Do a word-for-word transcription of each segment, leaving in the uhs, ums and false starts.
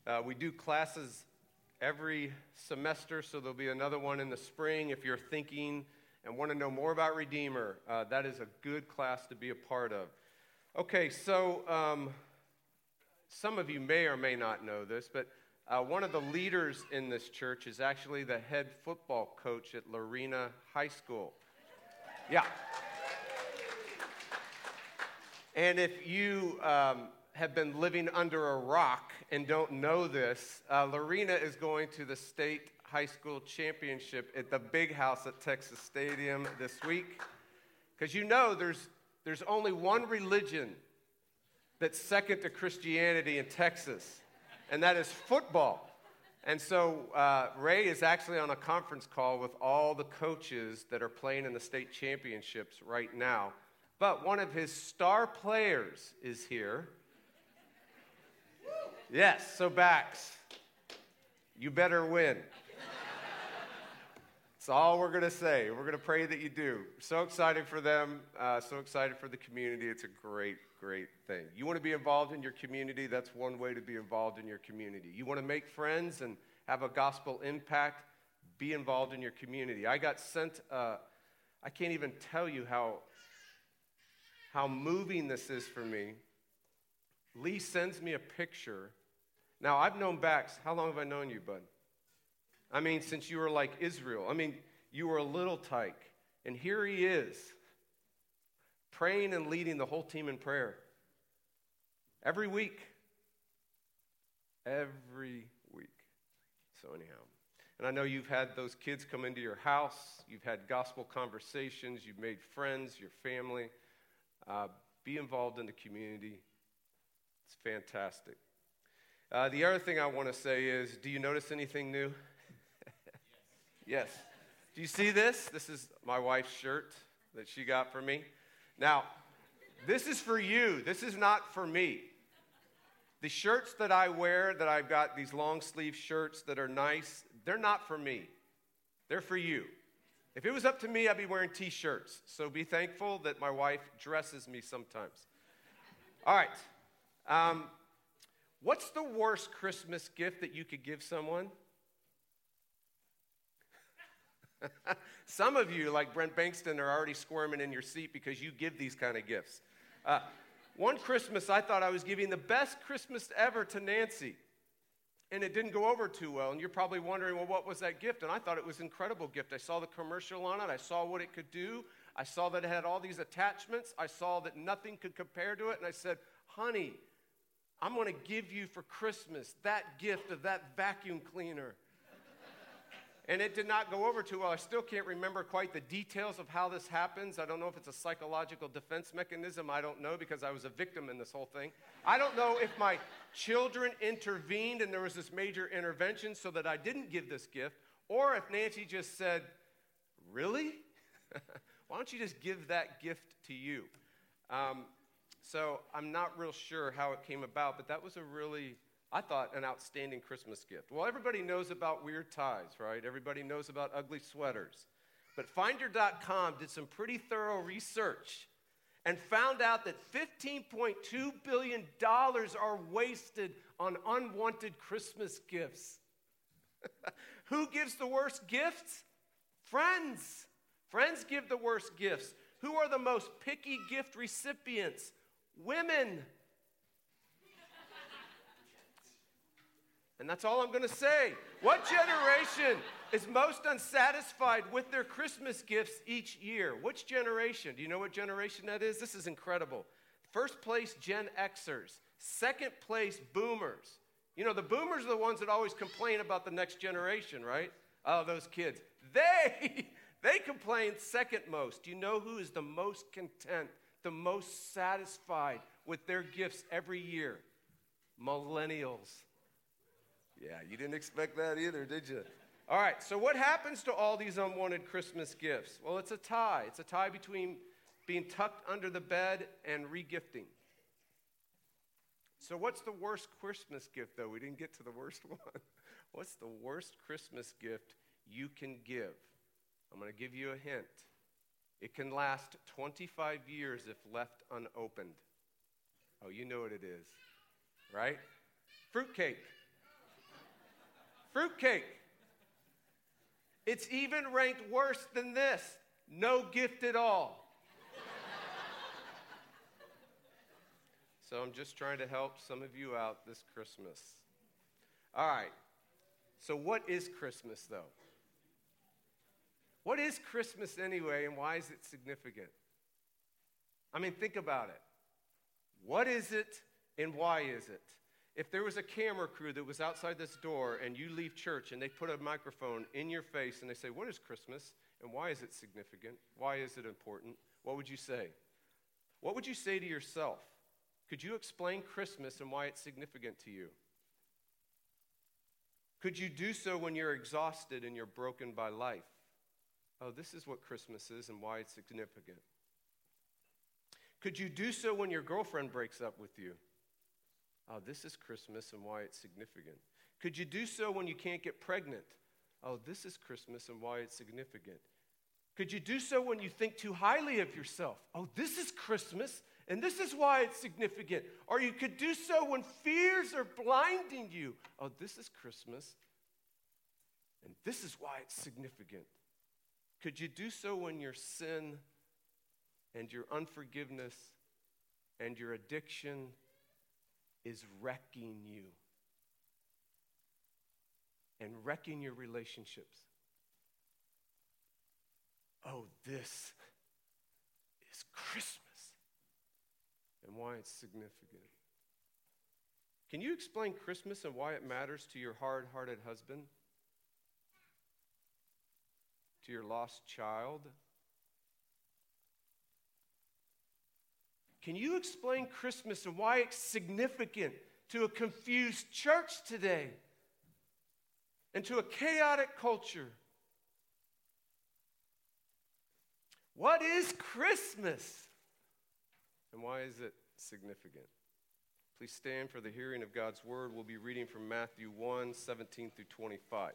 Uh, we do classes every semester, so there'll be another one in the spring. If you're thinking and want to know more about Redeemer, uh, that is a good class to be a part of. Okay, so um, some of you may or may not know this, but uh, one of the leaders in this church is actually the head football coach at Lorena High School. Yeah. And if you um, have been living under a rock and don't know this, uh, Lorena is going to the state high school championship at the Big House at Texas Stadium this week. Because you know there's there's only one religion that's second to Christianity in Texas, and that is football. And so uh, Ray is actually on a conference call with all the coaches that are playing in the state championships right now. But one of his star players is here. Yes, so Bax, you better win. That's all we're going to say. We're going to pray that you do. So excited for them, uh, so excited for the community. It's a great, great thing. You want to be involved in your community? That's one way to be involved in your community. You want to make friends and have a gospel impact? Be involved in your community. I got sent, uh, I can't even tell you how... How moving this is for me. Lee sends me a picture. Now, I've known Bax. How long have I known you, bud? I mean, since you were like Israel. I mean, you were a little tyke. And here he is, praying and leading the whole team in prayer. Every week. Every week. So anyhow. And I know you've had those kids come into your house. You've had gospel conversations. You've made friends, your family. Uh, be involved in the community. It's fantastic. Uh, the other thing I want to say is, do you notice anything new? Yes. Yes. Do you see this? This is my wife's shirt that she got for me. Now, this is for you. This is not for me. The shirts that I wear, that I've got, these long sleeve shirts that are nice, they're not for me. They're for you. If it was up to me, I'd be wearing T-shirts. So be thankful that my wife dresses me sometimes. All right. Um, what's the worst Christmas gift that you could give someone? Some of you, like Brent Bankston, are already squirming in your seat because you give these kind of gifts. Uh, one Christmas, I thought I was giving the best Christmas ever to Nancy. And it didn't go over too well, and you're probably wondering, well, what was that gift? And I thought it was an incredible gift. I saw the commercial on it. I saw what it could do. I saw that it had all these attachments. I saw that nothing could compare to it, and I said, honey, I'm going to give you for Christmas that gift of that vacuum cleaner. And it did not go over too well. I still can't remember quite the details of how this happens. I don't know if it's a psychological defense mechanism. I don't know because I was a victim in this whole thing. I don't know if my children intervened and there was this major intervention so that I didn't give this gift, or if Nancy just said, really? Why don't you just give that gift to you? Um, so I'm not real sure how it came about, but that was a really... I thought an outstanding Christmas gift. Well, everybody knows about weird ties, right? Everybody knows about ugly sweaters. But Finder dot com did some pretty thorough research and found out that fifteen point two billion dollars are wasted on unwanted Christmas gifts. Who gives the worst gifts? Friends. Friends give the worst gifts. Who are the most picky gift recipients? Women. And that's all I'm going to say. What generation is most unsatisfied with their Christmas gifts each year? Which generation? Do you know what generation that is? This is incredible. First place, Gen Xers. Second place, Boomers. You know, the Boomers are the ones that always complain about the next generation, right? Oh, those kids. They, they complain second most. Do you know who is the most content, the most satisfied with their gifts every year? Millennials. Yeah, you didn't expect that either, did you? All right, so what happens to all these unwanted Christmas gifts? Well, it's a tie. It's a tie between being tucked under the bed and regifting. So what's the worst Christmas gift, though? We didn't get to the worst one. What's the worst Christmas gift you can give? I'm going to give you a hint. It can last twenty-five years if left unopened. Oh, you know what it is, right? Fruitcake. Fruitcake. It's even ranked worse than this. No gift at all. So I'm just trying to help some of you out this Christmas. All right. So what is Christmas, though? What is Christmas anyway, and why is it significant? I mean, think about it. What is it, and why is it? If there was a camera crew that was outside this door, and you leave church, and they put a microphone in your face, and they say, what is Christmas, and why is it significant? Why is it important? What would you say? What would you say to yourself? Could you explain Christmas and why it's significant to you? Could you do so when you're exhausted and you're broken by life? Oh, this is what Christmas is and why it's significant. Could you do so when your girlfriend breaks up with you? Oh, this is Christmas and why it's significant. Could you do so when you can't get pregnant? Oh, this is Christmas and why it's significant. Could you do so when you think too highly of yourself? Oh, this is Christmas and this is why it's significant. Or you could do so when fears are blinding you. Oh, this is Christmas and this is why it's significant. Could you do so when your sin and your unforgiveness and your addiction is wrecking you and wrecking your relationships? Oh, this is Christmas and why it's significant. Can you explain Christmas and why it matters to your hard-hearted husband? To your lost child? Can you explain Christmas and why it's significant to a confused church today and to a chaotic culture? What is Christmas and why is it significant? Please stand for the hearing of God's word. We'll be reading from Matthew one, seventeen through twenty-five.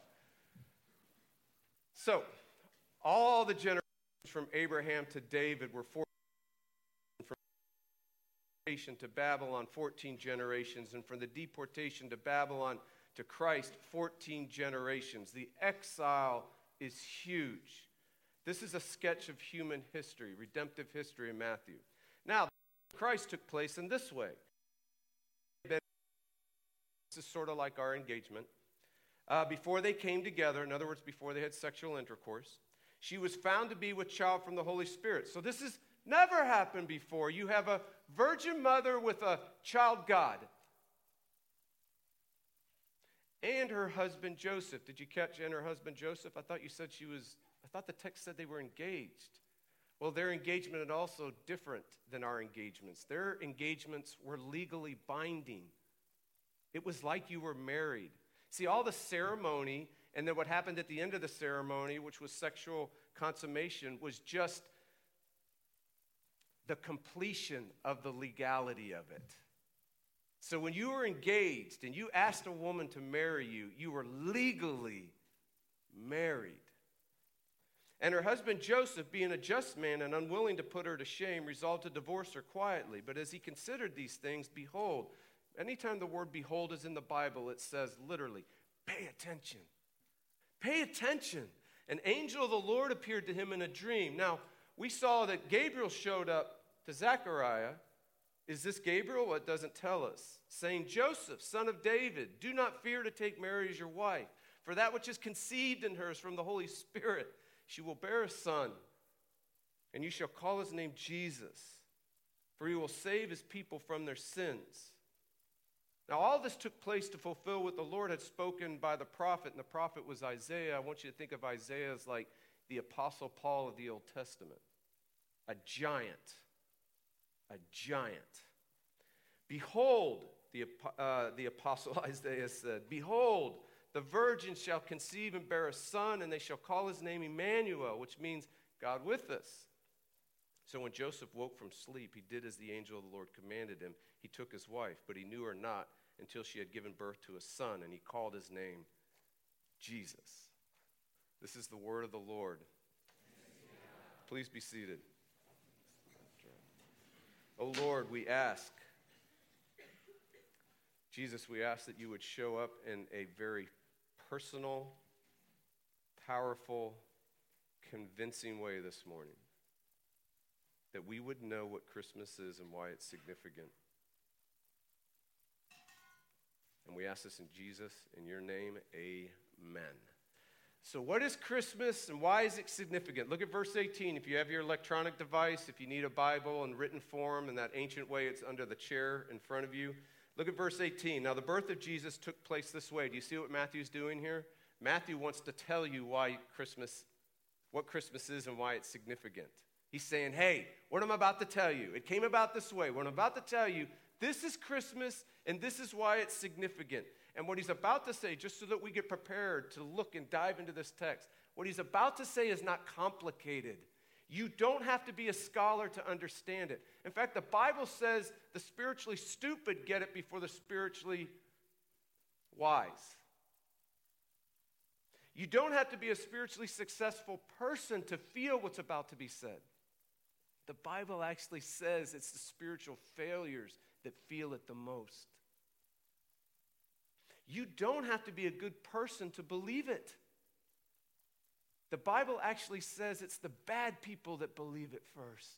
So, all the generations from Abraham to David were fourteen from deportation to Babylon, fourteen generations, and from the deportation to Babylon to Christ, fourteen generations. The exile is huge. This is a sketch of human history, redemptive history in Matthew. Now, Christ took place in this way. This is sort of like our engagement. Uh, before they came together, in other words, before they had sexual intercourse, she was found to be with child from the Holy Spirit. So this has never happened before. You have a virgin mother with a child God. And her husband Joseph. Did you catch and her husband Joseph? I thought you said she was, I thought the text said they were engaged. Well, their engagement is also different than our engagements. Their engagements were legally binding. It was like you were married. See, all the ceremony and then what happened at the end of the ceremony, which was sexual consummation, was just the completion of the legality of it. So when you were engaged and you asked a woman to marry you, you were legally married. And her husband Joseph, being a just man and unwilling to put her to shame, resolved to divorce her quietly. But as he considered these things, behold, anytime the word behold is in the Bible, it says literally, pay attention. Pay attention. An angel of the Lord appeared to him in a dream. Now, we saw that Gabriel showed up to Zechariah. Is this Gabriel? Well, it doesn't tell us. Saying, Joseph, son of David, do not fear to take Mary as your wife, for that which is conceived in her is from the Holy Spirit. She will bear a son, and you shall call his name Jesus, for he will save his people from their sins. Now, all this took place to fulfill what the Lord had spoken by the prophet, and the prophet was Isaiah. I want you to think of Isaiah as like the Apostle Paul of the Old Testament, a giant, a giant. Behold, the, uh, the Apostle Isaiah said, behold, the virgin shall conceive and bear a son, and they shall call his name Emmanuel, which means God with us. So when Joseph woke from sleep, he did as the angel of the Lord commanded him. He took his wife, but he knew her not until she had given birth to a son, and he called his name Jesus. This is the word of the Lord. Please be seated. Oh Lord, we ask, Jesus, we ask that you would show up in a very personal, powerful, convincing way this morning, that we would know what Christmas is and why it's significant. And we ask this in Jesus, in your name, amen. So what is Christmas and why is it significant? Look at verse eighteen. If you have your electronic device, if you need a Bible in written form in that ancient way, it's under the chair in front of you. Look at verse eighteen. Now the birth of Jesus took place this way. Do you see what Matthew's doing here? Matthew wants to tell you why Christmas, what Christmas is and why it's significant. He's saying, hey, what I'm about to tell you, it came about this way. What I'm about to tell you, this is Christmas and this is why it's significant. And what he's about to say, just so that we get prepared to look and dive into this text, what he's about to say is not complicated. You don't have to be a scholar to understand it. In fact, the Bible says the spiritually stupid get it before the spiritually wise. You don't have to be a spiritually successful person to feel what's about to be said. The Bible actually says it's the spiritual failures that feel it the most. You don't have to be a good person to believe it. The Bible actually says it's the bad people that believe it first.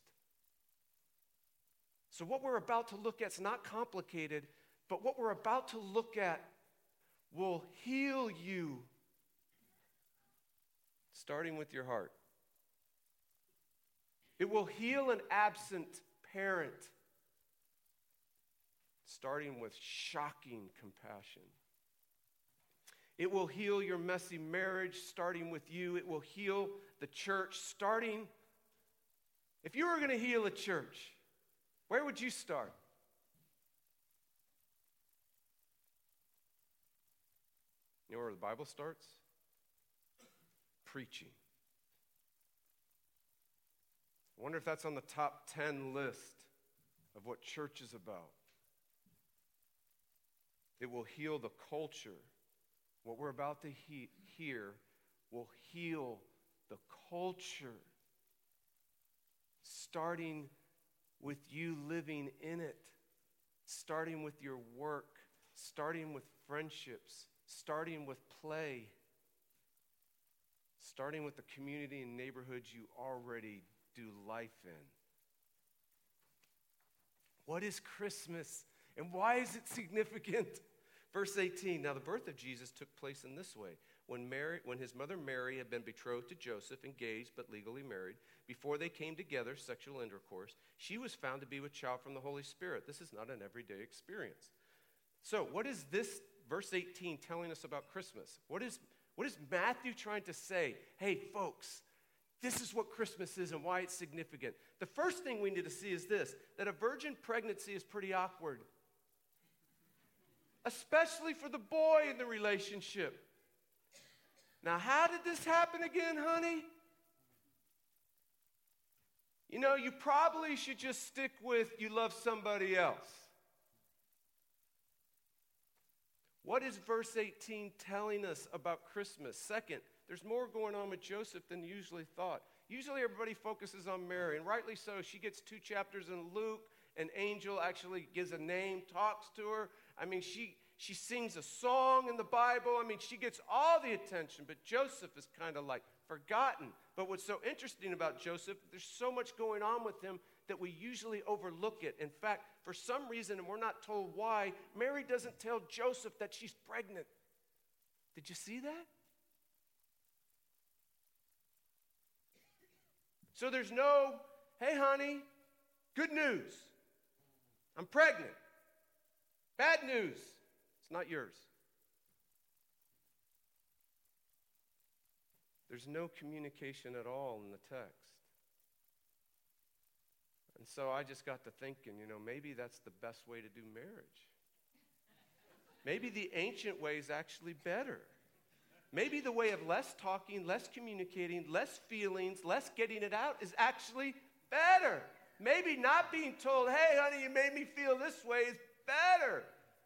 So what we're about to look at is not complicated, but what we're about to look at will heal you, starting with your heart. It will heal an absent parent, starting with shocking compassion. It will heal your messy marriage, starting with you. It will heal the church, starting... If you were going to heal a church, where would you start? You know where the Bible starts? Preaching. I wonder if that's on the top ten list of what church is about. It will heal the culture. What we're about to he- hear will heal the culture, starting with you living in it, starting with your work, starting with friendships, starting with play, starting with the community and neighborhoods you already do life in. What is Christmas and why is it significant? Verse eighteen, now the birth of Jesus took place in this way. When Mary, when his mother Mary had been betrothed to Joseph, engaged but legally married, before they came together, sexual intercourse, she was found to be with child from the Holy Spirit. This is not an everyday experience. So what is this verse eighteen telling us about Christmas? What is, what is Matthew trying to say? Hey, folks, this is what Christmas is and why it's significant. The first thing we need to see is this, that a virgin pregnancy is pretty awkward. Especially for the boy in the relationship. Now, how did this happen again, honey? You know, you probably should just stick with you love somebody else. What is verse eighteen telling us about Christmas? Second, there's more going on with Joseph than usually thought. Usually everybody focuses on Mary, and rightly so. She gets two chapters in Luke. An angel actually gives a name, talks to her. I mean, she, she sings a song in the Bible. I mean, she gets all the attention, but Joseph is kind of like forgotten. But what's so interesting about Joseph, there's so much going on with him that we usually overlook it. In fact, for some reason, and we're not told why, Mary doesn't tell Joseph that she's pregnant. Did you see that? So there's no, hey, honey, good news. I'm pregnant. Bad news. It's not yours. There's no communication at all in the text. And so I just got to thinking, you know, maybe that's the best way to do marriage. Maybe the ancient way is actually better. Maybe the way of less talking, less communicating, less feelings, less getting it out is actually better. Maybe not being told, hey, honey, you made me feel this way is better.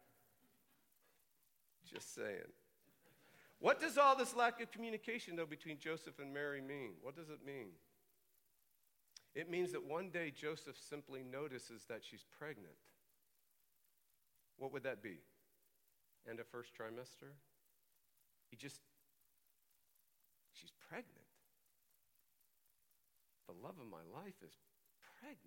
Just saying. What does all this lack of communication, though, between Joseph and Mary mean? What does it mean? It means that one day Joseph simply notices that she's pregnant. What would that be? End of first trimester? He just, she's pregnant. The love of my life is pregnant.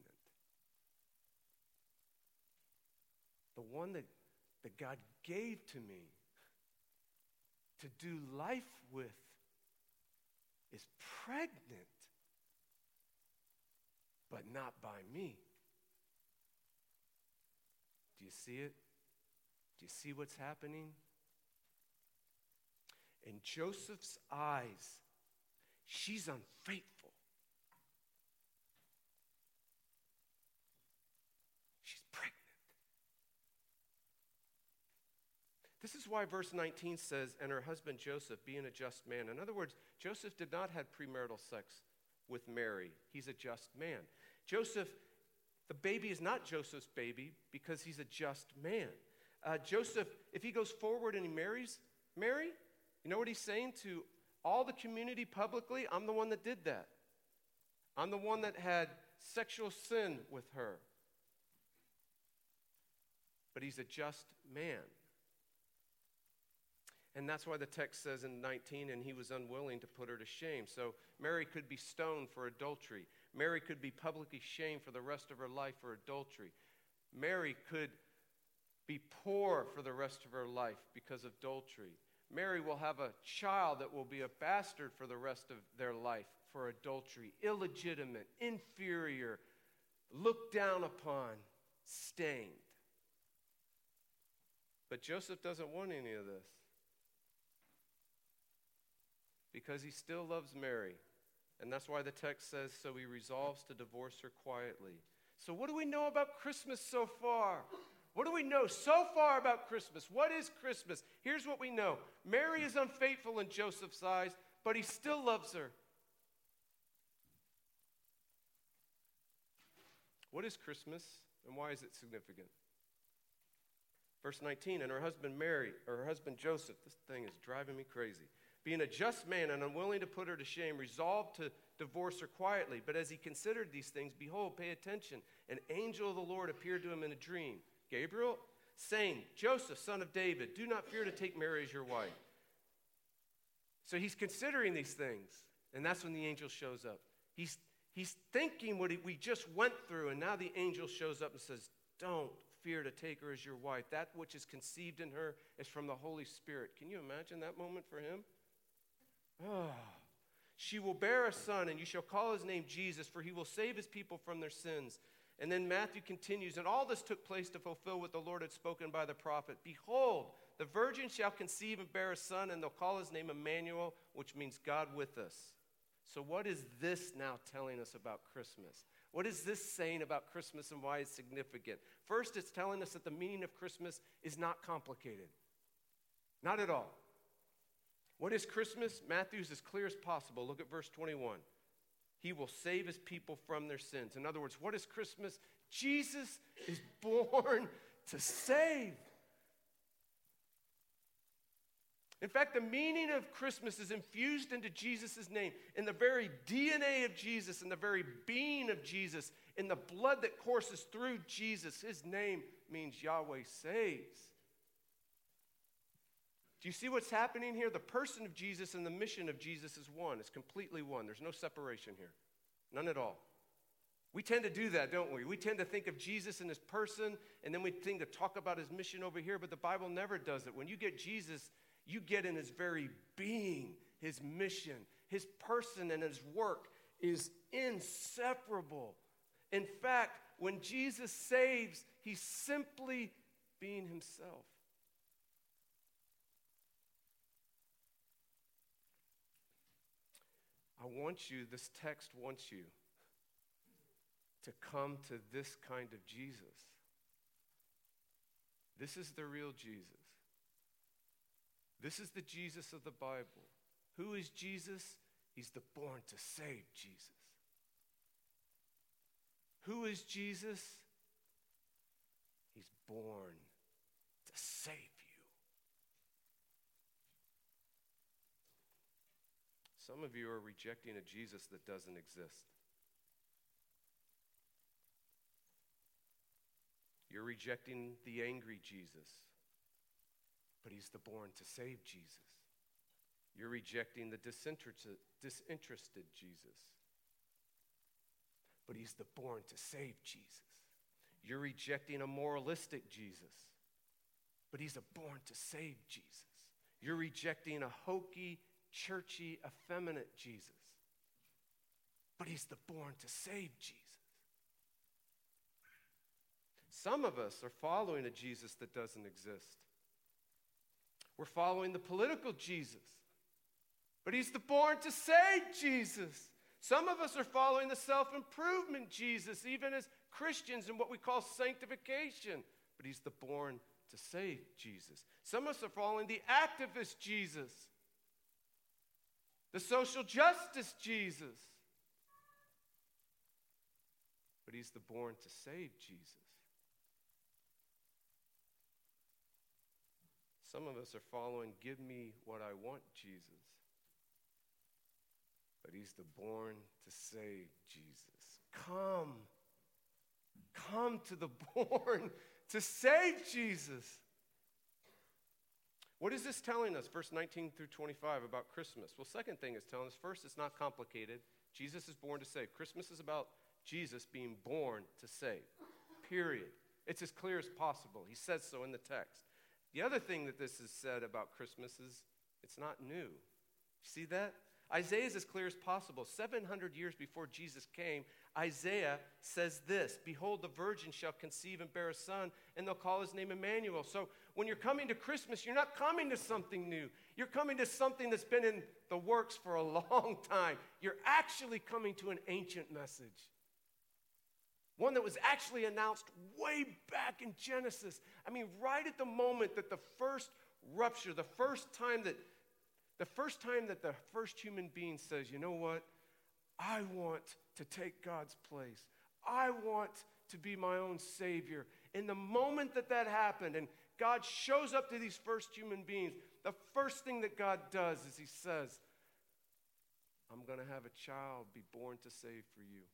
The one that, that God gave to me to do life with is pregnant, but not by me. Do you see it? Do you see what's happening? In Joseph's eyes, she's unfaithful. She's pregnant. This is why verse nineteen says, and her husband Joseph, being a just man. In other words, Joseph did not have premarital sex with Mary. He's a just man. Joseph, the baby is not Joseph's baby because he's a just man. Uh, Joseph, if he goes forward and he marries Mary, you know what he's saying to all the community publicly? I'm the one that did that. I'm the one that had sexual sin with her. But he's a just man. And that's why the text says in nineteen, and he was unwilling to put her to shame. So Mary could be stoned for adultery. Mary could be publicly shamed for the rest of her life for adultery. Mary could be poor for the rest of her life because of adultery. Mary will have a child that will be a bastard for the rest of their life for adultery. Illegitimate, inferior, looked down upon, stained. But Joseph doesn't want any of this, because he still loves Mary. And that's why the text says, so he resolves to divorce her quietly. So what do we know about Christmas so far? What do we know so far about Christmas? What is Christmas? Here's what we know. Mary is unfaithful in Joseph's eyes, but he still loves her. What is Christmas, and why is it significant? Verse nineteen, and her husband Mary, or her husband Joseph, this thing is driving me crazy, being a just man and unwilling to put her to shame, resolved to divorce her quietly. But as he considered these things, behold, pay attention, an angel of the Lord appeared to him in a dream, Gabriel, saying, Joseph, son of David, do not fear to take Mary as your wife. So he's considering these things, and that's when the angel shows up. He's, he's thinking what he, we just went through, and now the angel shows up and says, don't fear to take her as your wife. That which is conceived in her is from the Holy Spirit. Can you imagine that moment for him? Oh. She will bear a son, and you shall call his name Jesus, for he will save his people from their sins. And then Matthew continues, and all this took place to fulfill what the Lord had spoken by the prophet. Behold, the virgin shall conceive and bear a son, and they'll call his name Emmanuel, which means God with us. So what is this now telling us about Christmas? What is this saying about Christmas and why it's significant? First, it's telling us that the meaning of Christmas is not complicated. Not at all. What is Christmas? Matthew's as clear as possible. Look at verse twenty-one. He will save his people from their sins. In other words, what is Christmas? Jesus is born to save. In fact, the meaning of Christmas is infused into Jesus' name, in the very D N A of Jesus, in the very being of Jesus, in the blood that courses through Jesus. His name means Yahweh saves. Do you see what's happening here? The person of Jesus and the mission of Jesus is one. It's completely one. There's no separation here. None at all. We tend to do that, don't we? We tend to think of Jesus and his person, and then we tend to talk about his mission over here, but the Bible never does it. When you get Jesus, you get in his very being, his mission, his person, and his work is inseparable. In fact, when Jesus saves, he's simply being himself. I want you, this text wants you to come to this kind of Jesus. This is the real Jesus. This is the Jesus of the Bible. Who is Jesus? He's the born to save Jesus. Who is Jesus? He's born to save you. Some of you are rejecting a Jesus that doesn't exist. You're rejecting the angry Jesus, but he's the born to save Jesus. You're rejecting the disinterested, disinterested Jesus. But he's the born to save Jesus. You're rejecting a moralistic Jesus. But he's a born to save Jesus. You're rejecting a hokey, churchy, effeminate Jesus. But he's the born to save Jesus. Some of us are following a Jesus that doesn't exist. We're following the political Jesus. But he's the born to save Jesus. Some of us are following the self-improvement Jesus, even as Christians in what we call sanctification. But he's the born to save Jesus. Some of us are following the activist Jesus, the social justice Jesus. But he's the born to save Jesus. Some of us are following give me what I want Jesus. But he's the born to save Jesus. Come. Come to the born to save Jesus. What is this telling us, verse nineteen through twenty-five, about Christmas? Well, second thing it's telling us, first, it's not complicated. Jesus is born to save. Christmas is about Jesus being born to save, period. It's as clear as possible. He says so in the text. The other thing that this is said about Christmas is it's not new. You see that? Isaiah is as clear as possible. seven hundred years before Jesus came, Isaiah says this, behold, the virgin shall conceive and bear a son, and they'll call his name Emmanuel. So when you're coming to Christmas, you're not coming to something new. You're coming to something that's been in the works for a long time. You're actually coming to an ancient message. One that was actually announced way back in Genesis. I mean, right at the moment that the first rupture, the first time that the first time that the first human being says, you know what? I want to take God's place. I want to be my own Savior. In the moment that that happened and God shows up to these first human beings, the first thing that God does is he says, I'm going to have a child be born to save for you.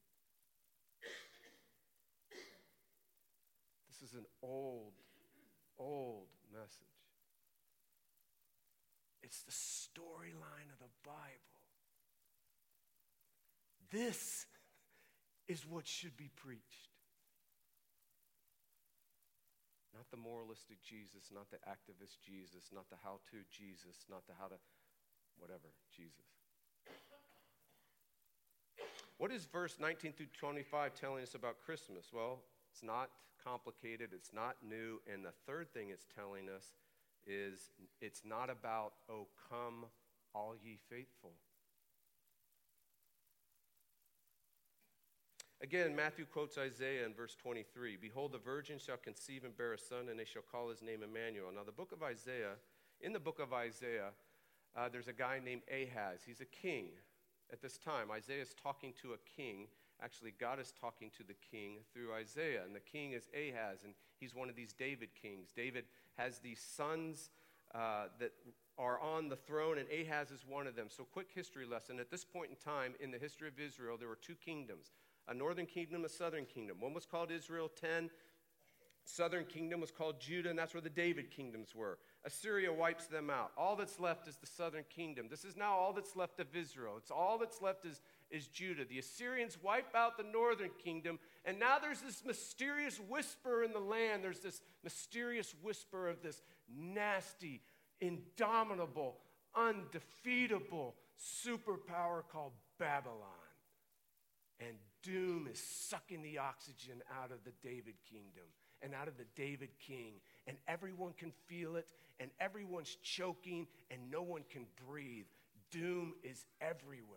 This is an old, old message. It's the storyline of the Bible. This is what should be preached. Not the moralistic Jesus, not the activist Jesus, not the how-to Jesus, not the how to whatever Jesus. What is verse nineteen through twenty-five telling us about Christmas? Well, it's not complicated, it's not new, and the third thing it's telling us is it's not about, oh, come, all ye faithful. Again, Matthew quotes Isaiah in verse twenty-three. Behold, the virgin shall conceive and bear a son, and they shall call his name Emmanuel. Now, the book of Isaiah, in the book of Isaiah, uh, there's a guy named Ahaz. He's a king at this time. Isaiah is talking to a king. Actually, God is talking to the king through Isaiah, and the king is Ahaz, and he's one of these David kings. David has these sons uh, that are on the throne, and Ahaz is one of them. So, quick history lesson. At this point in time, in the history of Israel, there were two kingdoms, a northern kingdom, a southern kingdom. One was called Israel, ten. Southern kingdom was called Judah, and that's where the David kingdoms were. Assyria wipes them out. All that's left is the southern kingdom. This is now all that's left of Israel. It's all that's left is is Judah. The Assyrians wipe out the northern kingdom, and now there's this mysterious whisper in the land. There's this mysterious whisper of this nasty, indomitable, undefeatable superpower called Babylon. And doom is sucking the oxygen out of the David kingdom and out of the David king, and everyone can feel it, and everyone's choking, and no one can breathe. Doom is everywhere.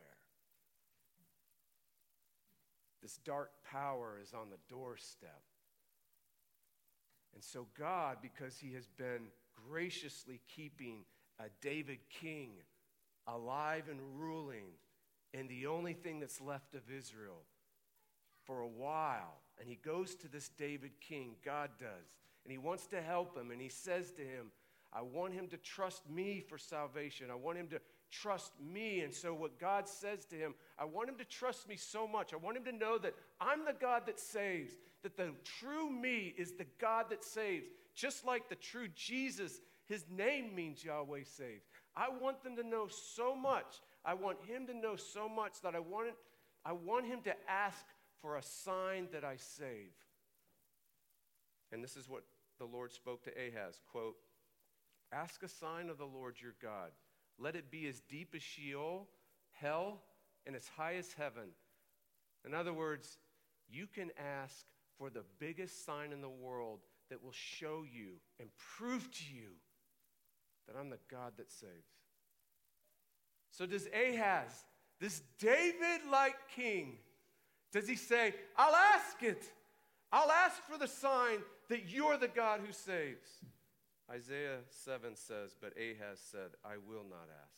This dark power is on the doorstep. And so God, because he has been graciously keeping a David king alive and ruling in the only thing that's left of Israel for a while, and he goes to this David king, God does, and he wants to help him, and he says to him, I want him to trust me for salvation. I want him to trust me. And so what God says to him, I want him to trust me so much. I want him to know that I'm the God that saves, that the true me is the God that saves. Just like the true Jesus his name means Yahweh saves. I want them to know so much. I want him to know so much that I want, it, I want him to ask for a sign that I save. And this is what the Lord spoke to Ahaz, quote, ask a sign of the Lord your God. Let it be as deep as Sheol, hell, and as high as heaven. In other words, you can ask for the biggest sign in the world that will show you and prove to you that I'm the God that saves. So does Ahaz, this David-like king, does he say, I'll ask it. I'll ask for the sign that you're the God who saves. Isaiah seven says, but Ahaz said, I will not ask.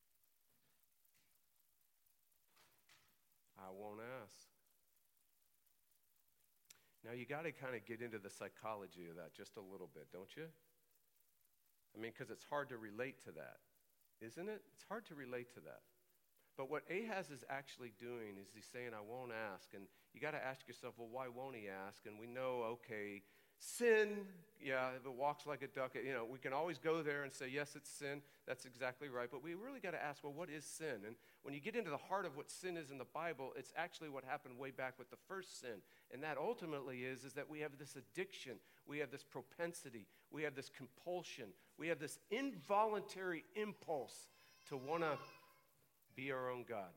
I won't ask. Now, you got to kind of get into the psychology of that just a little bit, don't you? I mean, because it's hard to relate to that, isn't it? It's hard to relate to that. But what Ahaz is actually doing is he's saying, I won't ask. And you got to ask yourself, well, why won't he ask? And we know, okay, sin, yeah, if it walks like a duck, you know, we can always go there and say, yes, it's sin. That's exactly right. But we really got to ask, well, what is sin? And when you get into the heart of what sin is in the Bible, it's actually what happened way back with the first sin. And that ultimately is, is that we have this addiction. We have this propensity. We have this compulsion. We have this involuntary impulse to want to be our own God,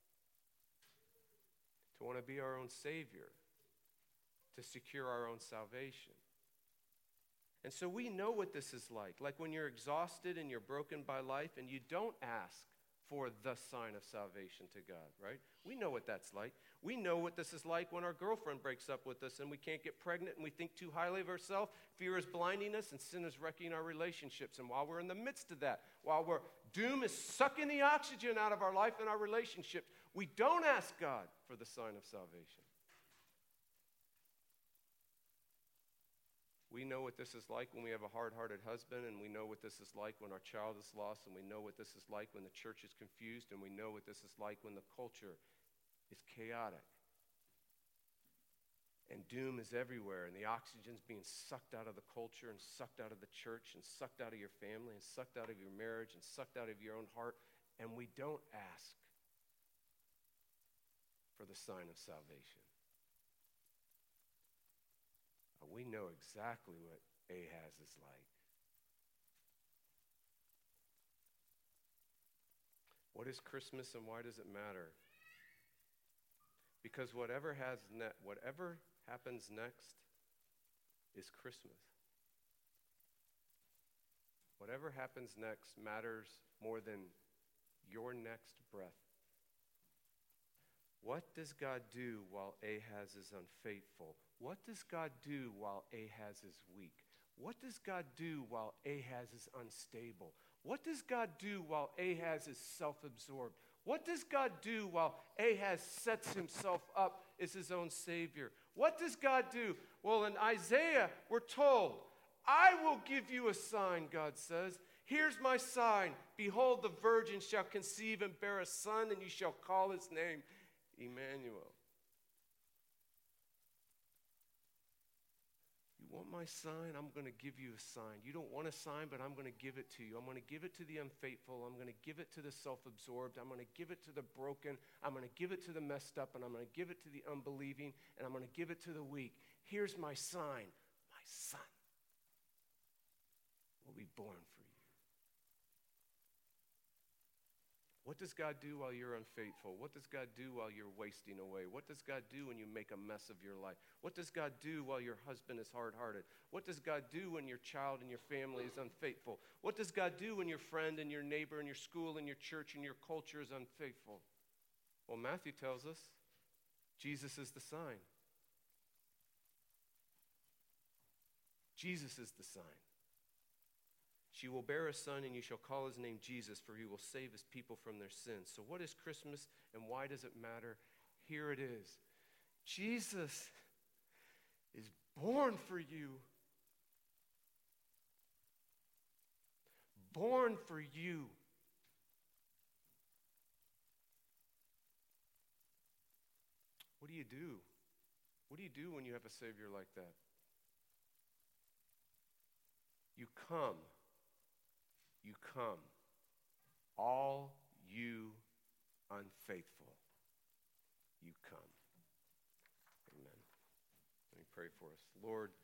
to want to be our own Savior, to secure our own salvation. And so we know what this is like. Like when you're exhausted and you're broken by life and you don't ask for the sign of salvation to God, right? We know what that's like. We know what this is like when our girlfriend breaks up with us and we can't get pregnant and we think too highly of ourselves. Fear is blinding us and sin is wrecking our relationships. And while we're in the midst of that, while we're doom is sucking the oxygen out of our life and our relationships, we don't ask God for the sign of salvation. We know what this is like when we have a hard-hearted husband, and we know what this is like when our child is lost, and we know what this is like when the church is confused, and we know what this is like when the culture is chaotic. And doom is everywhere, and the oxygen's being sucked out of the culture and sucked out of the church and sucked out of your family and sucked out of your marriage and sucked out of your own heart, and we don't ask for the sign of salvation. We know exactly what Ahaz is like. What is Christmas and why does it matter? Because whatever has ne- whatever happens next is Christmas. Whatever happens next matters more than your next breath. What does God do while Ahaz is unfaithful? What does God do while Ahaz is weak? What does God do while Ahaz is unstable? What does God do while Ahaz is self-absorbed? What does God do while Ahaz sets himself up as his own savior? What does God do? Well, in Isaiah, we're told, I will give you a sign, God says. Here's my sign. Behold, the virgin shall conceive and bear a son, and you shall call his name Emmanuel. You want my sign? I'm going to give you a sign. You don't want a sign, but I'm going to give it to you. I'm going to give it to the unfaithful. I'm going to give it to the self-absorbed. I'm going to give it to the broken. I'm going to give it to the messed up, and I'm going to give it to the unbelieving, and I'm going to give it to the weak. Here's my sign. My son will be born for you. What does God do while you're unfaithful? What does God do while you're wasting away? What does God do when you make a mess of your life? What does God do while your husband is hard-hearted? What does God do when your child and your family is unfaithful? What does God do when your friend and your neighbor and your school and your church and your culture is unfaithful? Well, Matthew tells us Jesus is the sign. Jesus is the sign. She will bear a son, and you shall call his name Jesus, for he will save his people from their sins. So what is Christmas, and why does it matter? Here it is. Jesus is born for you. Born for you. What do you do? What do you do when you have a Savior like that? You come you come. All you unfaithful, you come. Amen. Let me pray for us. Lord,